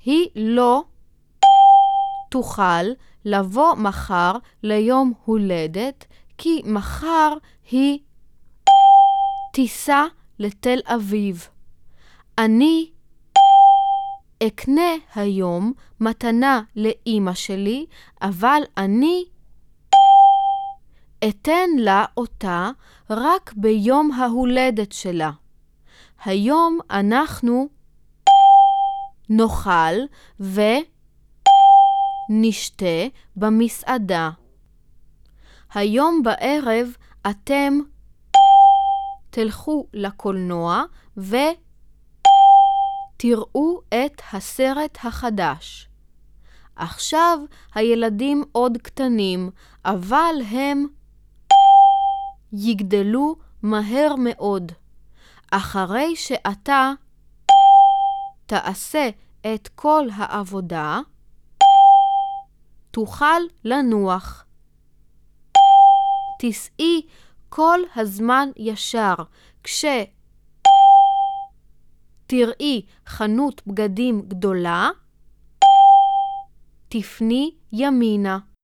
היא לא תוכל לבוא מחר ליום הולדת, כי מחר היא תיסע לתל אביב. אני אקנה היום מתנה לאמא שלי, אבל אני אתן לה אותה רק ביום ההולדת שלה. היום אנחנו נאכל ונשתה במסעדה. היום בערב אתם תלכו לקולנוע ותראו את הסרט החדש. עכשיו הילדים עוד קטנים, אבל הם יגדלו מהר מאוד. אחרי שאתה תעשה את כל העבודה, תוכל לנוח. תסעי כל הזמן ישר. כשתראי חנות בגדים גדולה, תפני ימינה.